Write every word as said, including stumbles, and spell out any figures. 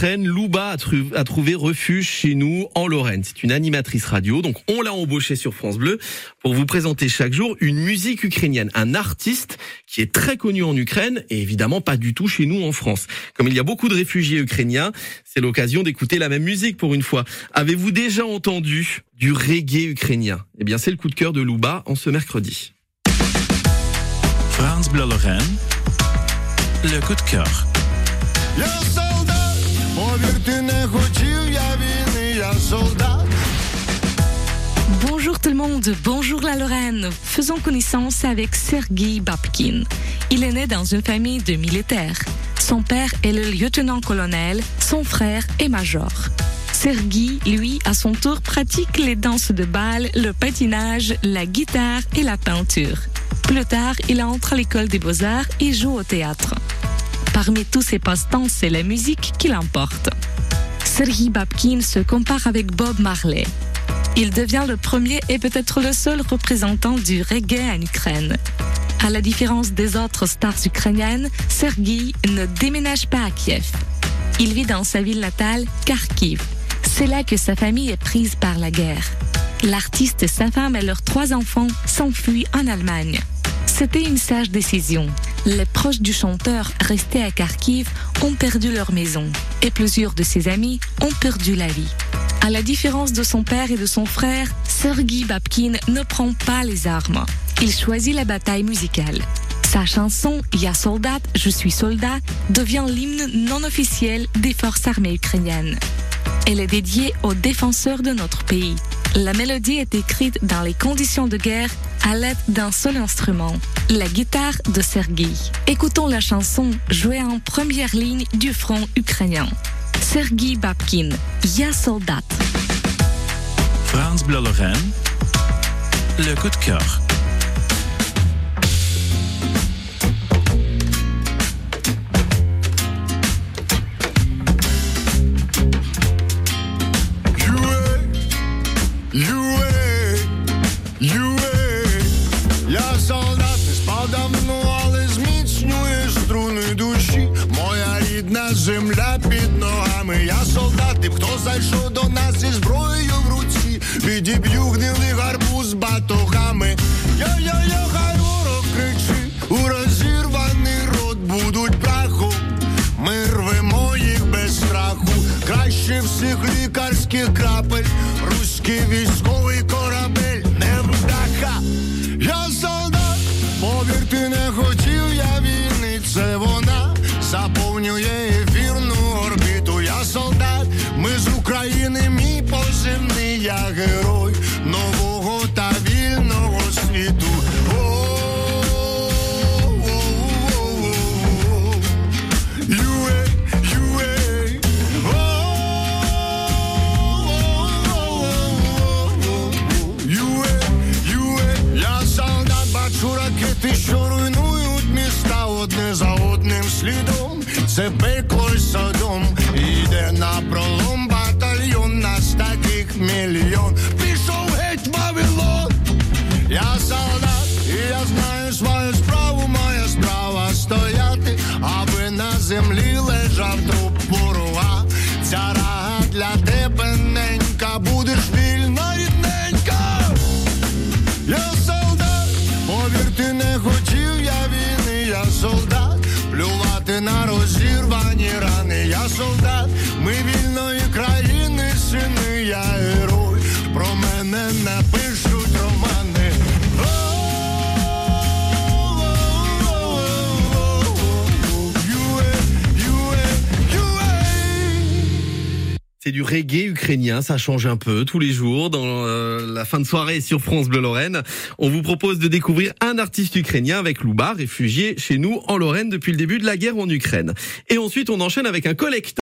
Ukraine, Louba a, tru- a trouvé refuge chez nous en Lorraine. C'est une animatrice radio, donc on l'a embauchée sur France Bleu pour vous présenter chaque jour une musique ukrainienne, un artiste qui est très connu en Ukraine et évidemment pas du tout chez nous en France. Comme il y a beaucoup de réfugiés ukrainiens, c'est l'occasion d'écouter la même musique pour une fois. Avez-vous déjà entendu du reggae ukrainien ? Eh bien, c'est le coup de cœur de Louba en ce mercredi. France Bleu Lorraine, le coup de cœur. Bonjour tout le monde, bonjour la Lorraine. Faisons connaissance avec Sergueï Babkin. Il est né dans une famille de militaires. Son père est le lieutenant-colonel, son frère est major. Sergueï, lui, à son tour, pratique les danses de bal, le patinage, la guitare et la peinture. Plus tard, il entre à l'école des beaux-arts et joue au théâtre. Parmi tous ses passe-temps, c'est la musique qui l'emporte. Sergueï Babkin se compare avec Bob Marley. Il devient le premier et peut-être le seul représentant du reggae en Ukraine. À la différence des autres stars ukrainiennes, Sergueï ne déménage pas à Kiev. Il vit dans sa ville natale, Kharkiv. C'est là que sa famille est prise par la guerre. L'artiste, sa femme et leurs trois enfants s'enfuient en Allemagne. C'était une sage décision. Les proches du chanteur restés à Kharkiv ont perdu leur maison et plusieurs de ses amis ont perdu la vie. À la différence de son père et de son frère, Sergueï Babkin ne prend pas les armes. Il choisit la bataille musicale. Sa chanson « Ya soldat, je suis soldat » devient l'hymne non officiel des forces armées ukrainiennes. Elle est dédiée aux défenseurs de notre pays. La mélodie est écrite dans les conditions de guerre à l'aide d'un seul instrument, la guitare de Sergueï. Écoutons la chanson jouée en première ligne du front ukrainien. Sergueï Babkin, Ya soldat. France Bleu Lorraine, le coup de cœur. Я солдат, не спав давно, але зміцнює струни душі. Моя рідна земля під ногами. Я солдат, і хто зайшов до нас зі зброєю в руці, відіб'ю гнилий гарбуз батогами. Йо-йо-йо, хай ворог кричить, у розірваний рот будуть прахом. Ми рвемо їх без страху, краще всіх лікарських крапель. Руський військовий корабель, невдаха. Я солдат, повірте, не хотів я війни, це вона заповнює ефірну орбіту. Я солдат, ми з України, мій позивний, я герой нового та вільного світу. Ракети, що руйнують міста одне за одним слідом. Це пекло й Содом. Іде на пролом батальйон, нас таких мільйон. Пішов геть Вавилон. Я солдат, і я знаю свою справу. Моя справа стояти, аби на землі лежав труп ворога. Ця рага для тебе, ненька, будеш вільна, рідненька. Я солдат, повірте, не хотів я війни, я солдат, плювати на розірвані рани. Я солдат, ми вільної країни, сини, я герой, про мене напишуть романи. C'est du reggae ukrainien, ça change un peu tous les jours dans euh, la fin de soirée sur France Bleu Lorraine. On vous propose de découvrir un artiste ukrainien avec Louba, réfugié chez nous en Lorraine depuis le début de la guerre en Ukraine. Et ensuite, on enchaîne avec un collecteur.